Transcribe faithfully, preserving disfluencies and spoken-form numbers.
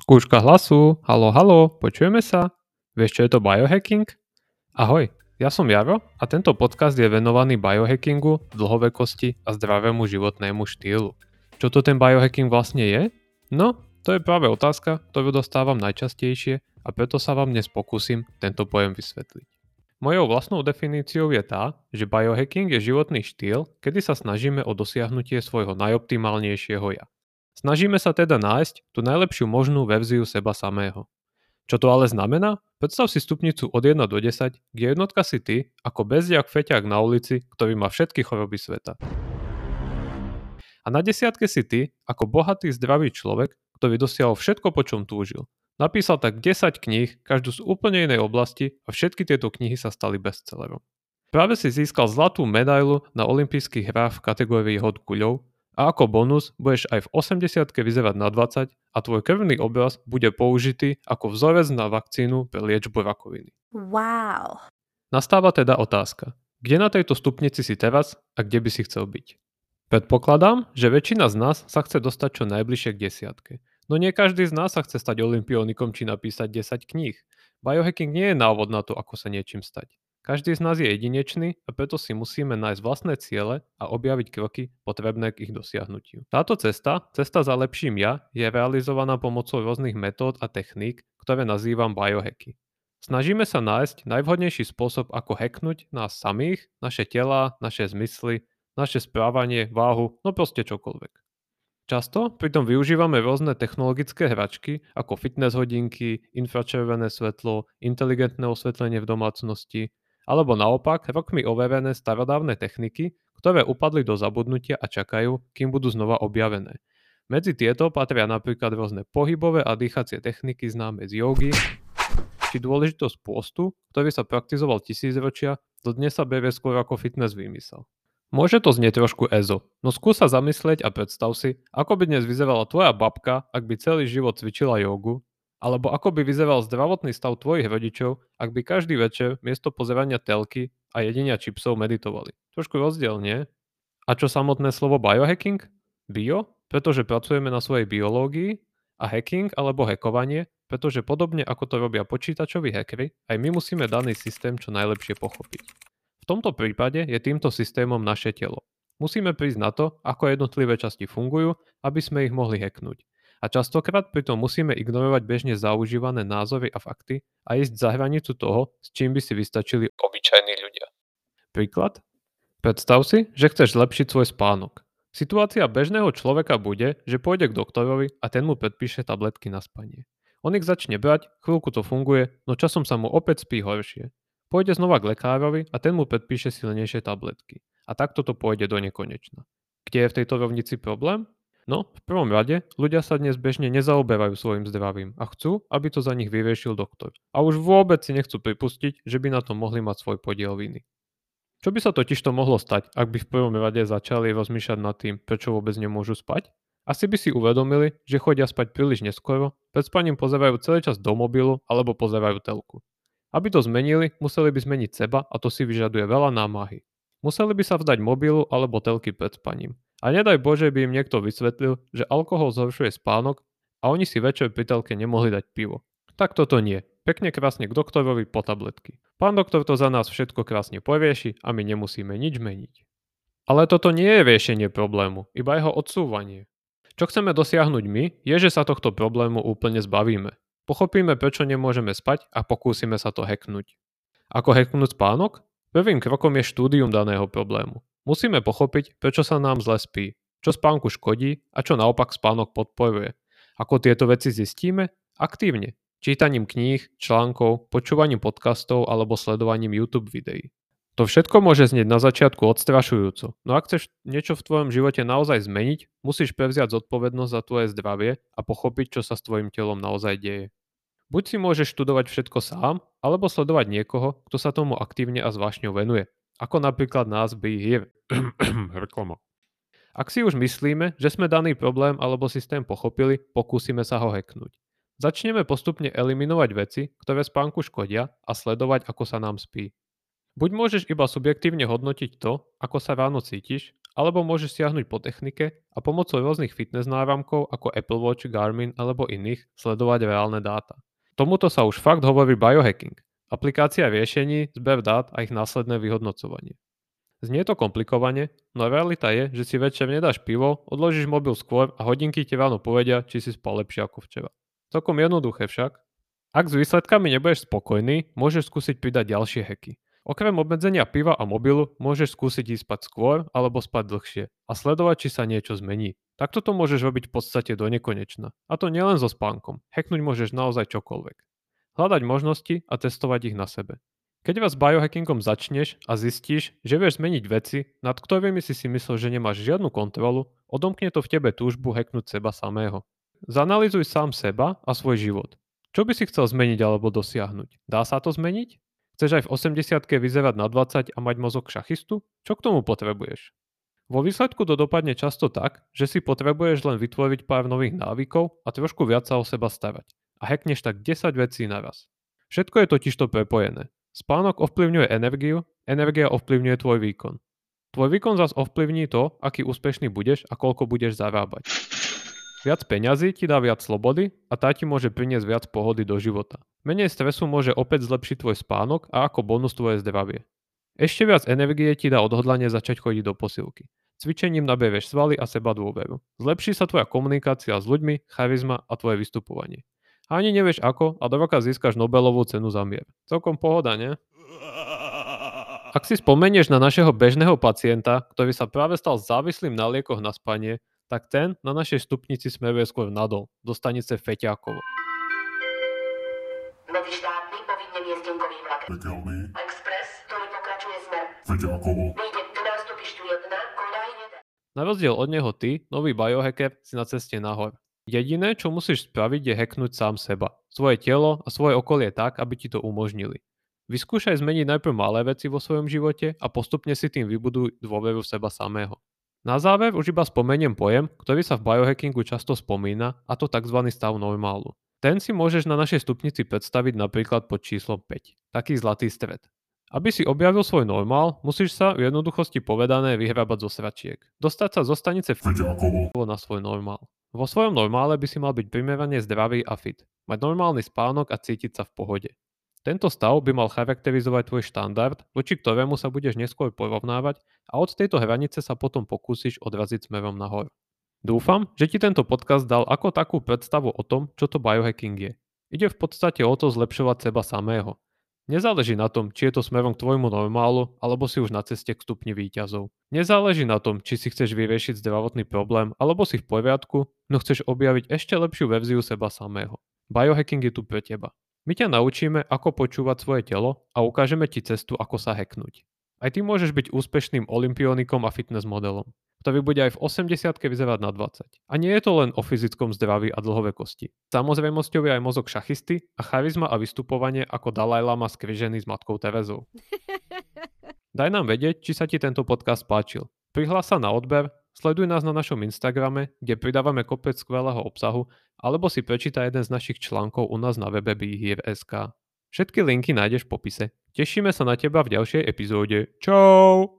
Skúška hlasu. Haló, haló, počujeme sa? Vieš, čo je to biohacking? Ahoj, ja som Jaro a tento podcast je venovaný biohackingu, dlhovekosti a zdravému životnému štýlu. Čo to ten biohacking vlastne je? No, to je práve otázka, ktorú dostávam najčastejšie a preto sa vám dnes pokúsim tento pojem vysvetliť. Mojou vlastnou definíciou je tá, že biohacking je životný štýl, kedy sa snažíme o dosiahnutie svojho najoptimálnejšieho ja. Snažíme sa teda nájsť tú najlepšiu možnú verziu seba samého. Čo to ale znamená? Predstav si stupnicu od jeden do desať, kde jednotka si ty, ako bezdiak feťák na ulici, ktorý má všetky choroby sveta. A na desiatke si ty, ako bohatý zdravý človek, ktorý dosiahol všetko, po čom túžil. Napísal tak desať kníh, každú z úplne inej oblasti a všetky tieto knihy sa stali bestsellerom. Práve si získal zlatú medailu na olympijských hrách v kategórii hod guľov a ako bonus budeš aj v osemdesiatke vyzerať na dvadsať a tvoj krvný obraz bude použitý ako vzorec na vakcínu pre liečbu rakoviny. Wow. Nastáva teda otázka, kde na tejto stupnici si teraz a kde by si chcel byť? Predpokladám, že väčšina z nás sa chce dostať čo najbližšie k desiatke. No nie každý z nás sa chce stať olympionikom či napísať desať kníh. Biohacking nie je návod na to, ako sa niečím stať. Každý z nás je jedinečný a preto si musíme nájsť vlastné ciele a objaviť kroky potrebné k ich dosiahnutiu. Táto cesta, cesta za lepším ja, je realizovaná pomocou rôznych metód a techník, ktoré nazývam biohacky. Snažíme sa nájsť najvhodnejší spôsob, ako hacknúť nás samých, naše telá, naše zmysly, naše správanie, váhu, no proste čokoľvek. Často pritom využívame rôzne technologické hračky ako fitness hodinky, infračervené svetlo, inteligentné osvetlenie v domácnosti, alebo naopak rokmi overené starodávne techniky, ktoré upadli do zabudnutia a čakajú, kým budú znova objavené. Medzi tieto patria napríklad rôzne pohybové a dýchacie techniky známe z jógy, či dôležitosť pôstu, ktorý sa praktizoval tisícročia, dodnes sa berie skôr ako fitness výmysel. Môže to znieť trošku ezo, no skús sa zamyslieť a predstav si, ako by dnes vyzerala tvoja babka, ak by celý život cvičila jógu, alebo ako by vyzeral zdravotný stav tvojich rodičov, ak by každý večer miesto pozerania telky a jedenia čipsov meditovali. Trošku rozdiel, nie? A čo samotné slovo biohacking? Bio, pretože pracujeme na svojej biológii, a hacking alebo hackovanie, pretože podobne ako to robia počítačoví hackery, aj my musíme daný systém čo najlepšie pochopiť. V tomto prípade je týmto systémom naše telo. Musíme prísť na to, ako jednotlivé časti fungujú, aby sme ich mohli hacknúť. A častokrát pritom musíme ignorovať bežne zaužívané názory a fakty a ísť za hranicu toho, s čím by si vystačili obyčajní ľudia. Príklad? Predstav si, že chceš zlepšiť svoj spánok. Situácia bežného človeka bude, že pôjde k doktorovi a ten mu predpíše tabletky na spanie. On ich začne brať, chvíľku to funguje, no časom sa mu opäť spí horšie. Pôjde znova k lekárovi a ten mu predpíše silnejšie tabletky. A takto to pôjde do nekonečna. Kde je v tejto rovnici problém? No, v prvom rade, ľudia sa dnes bežne nezaoberajú svojim zdravím a chcú, aby to za nich vyriešil doktor. A už vôbec si nechcú pripustiť, že by na to mohli mať svoj podiel viny. Čo by sa totižto mohlo stať, ak by v prvom rade začali rozmýšľať nad tým, prečo vôbec nemôžu spať? Asi by si uvedomili, že chodia spať príliš neskoro, pred spaním pozerajú celý čas do mobilu alebo pozerajú telku. Aby to zmenili, museli by zmeniť seba a to si vyžaduje veľa námahy. Museli by sa vzdať mobilu alebo telky pred spaním. A nedaj Bože by im niekto vysvetlil, že alkohol zhoršuje spánok a oni si večer pri telke nemohli dať pivo. Tak toto nie. Pekne krásne k doktorovi po tabletky. Pán doktor to za nás všetko krásne porieši a my nemusíme nič meniť. Ale toto nie je riešenie problému, iba jeho odsúvanie. Čo chceme dosiahnuť my, je, že sa tohto problému úplne zbavíme. Pochopíme, prečo nemôžeme spať a pokúsime sa to hacknúť. Ako hacknúť spánok? Prvým krokom je štúdium daného problému. Musíme pochopiť, prečo sa nám zle spí, čo spánku škodí a čo naopak spánok podporuje. Ako tieto veci zistíme? Aktívne. Čítaním kníh, článkov, počúvaním podcastov alebo sledovaním YouTube videí. To všetko môže znieť na začiatku odstrašujúco, no ak chceš niečo v tvojom živote naozaj zmeniť, musíš prevziať zodpovednosť za tvoje zdravie a pochopiť, čo sa s tvojim telom naozaj deje. Buď si môžeš študovať všetko sám, alebo sledovať niekoho, kto sa tomu aktívne a s vášňou venuje, ako napríklad nás Be Here. Reklama. Ak si už myslíme, že sme daný problém alebo systém pochopili, pokúsime sa ho hacknúť. Začneme postupne eliminovať veci, ktoré spánku škodia a sledovať, ako sa nám spí. Buď môžeš iba subjektívne hodnotiť to, ako sa ráno cítiš, alebo môžeš siahnuť po technike a pomocou rôznych fitness náramkov ako Apple Watch, Garmin alebo iných sledovať reálne dáta. Tomuto sa už fakt hovorí biohacking. Aplikácia riešení, zber dát a ich následné vyhodnocovanie. Znie to komplikovane, no realita je, že si večer nedáš pivo, odložíš mobil skôr a hodinky ti ráno povedia, či si spal lepšie ako včera. Celkom jednoduché však. Ak s výsledkami nebudeš spokojný, môžeš skúsiť pridať ďalšie hacky. Okrem obmedzenia piva a mobilu môžeš skúsiť ísť spať skôr alebo spať dlhšie a sledovať, či sa niečo zmení. Takto to môžeš robiť v podstate do nekonečna. A to nielen so spánkom. Hacknúť môžeš naozaj čokoľvek. Hľadať možnosti a testovať ich na sebe. Keď vás biohackingom začneš a zistíš, že vieš zmeniť veci, nad ktorými si si myslel, že nemáš žiadnu kontrolu, odomkne to v tebe túžbu hacknúť seba samého. Zanalýzuj sám seba a svoj život. Čo by si chcel zmeniť alebo dosiahnuť? Dá sa to zmeniť? Chceš aj v osemdesiatke vyzerať na dvadsať a mať mozog šachistu? Čo k tomu potrebuješ? Vo výsledku to dopadne často tak, že si potrebuješ len vytvoriť pár nových návykov a trošku viac sa o seba starať. A hackneš tak desať vecí naraz. Všetko je totižto prepojené. Spánok ovplyvňuje energiu, energia ovplyvňuje tvoj výkon. Tvoj výkon zas ovplyvní to, aký úspešný budeš a koľko budeš zarábať. Viac peňazí ti dá viac slobody a tá ti môže priniesť viac pohody do života. Menej stresu môže opäť zlepšiť tvoj spánok a ako bonus tvoje zdravie. Ešte viac energie ti dá odhodlanie začať chodiť do posilky. Cvičením naberieš svaly a seba dôveru. Zlepší sa tvoja komunikácia s ľuďmi, charizma a tvoje vystupovanie. A ani nevieš ako a do roka získaš Nobelovú cenu za mier. Celkom pohoda, nie? Ak si spomenieš na našeho bežného pacienta, ktorý sa práve stal závislým na liekoch na spanie, tak ten na našej stupnici smeruje skôr nadol, do stanice Feťákovo. Nový štátny povinne miestnenkový vlak. Pekelný. Express, ktorý pokračuje smer. Feťákovo. Vyjde do nástupišťu jedna, Kodaj jeden. Na rozdiel od neho ty, nový biohacker, si na ceste nahor. Jediné, čo musíš spraviť, je hacknúť sám seba, svoje telo a svoje okolie tak, aby ti to umožnili. Vyskúšaj zmeniť najprv malé veci vo svojom živote a postupne si tým vybuduj dôveru v seba samého. Na záver už iba spomeniem pojem, ktorý sa v biohackingu často spomína, a to tzv. Stav normálu. Ten si môžeš na našej stupnici predstaviť napríklad pod číslom päť, taký zlatý stred. Aby si objavil svoj normál, musíš sa v jednoduchosti povedané vyhrabať zo sračiek. Dostať sa zo stanice Feťákovo. na svoj normál. Vo svojom normále by si mal byť primerane zdravý a fit, mať normálny spánok a cítiť sa v pohode. Tento stav by mal charakterizovať tvoj štandard, voči ktorému sa budeš neskôr porovnávať a od tejto hranice sa potom pokúsiš odraziť smerom nahor. Dúfam, že ti tento podcast dal ako takú predstavu o tom, čo to biohacking je. Ide v podstate o to zlepšovať seba samého. Nezáleží na tom, či je to smerom k tvojmu normálu, alebo si už na ceste k stupni víťazov. Nezáleží na tom, či si chceš vyriešiť zdravotný problém, alebo si v poriadku, no chceš objaviť ešte lepšiu verziu seba samého. Biohacking je tu pre teba. My ťa naučíme, ako počúvať svoje telo a ukážeme ti cestu, ako sa hacknúť. Aj ty môžeš byť úspešným olympionikom a fitness modelom, ktorý bude aj v osemdesiatke vyzerať na dvadsať. A nie je to len o fyzickom zdraví a dlhovekosti. Samozrejmosťou je aj mozog šachisty a charizma a vystupovanie ako Dalaj Lama skrižený s matkou Terezou. Daj nám vedieť, či sa ti tento podcast páčil. Prihlás sa na odber, sleduj nás na našom Instagrame, kde pridávame kopec skvelého obsahu, alebo si prečítaj jeden z našich článkov u nás na webe behier bodka es ká. Všetky linky nájdeš v popise. Tešíme sa na teba v ďalšej epizóde. Čau!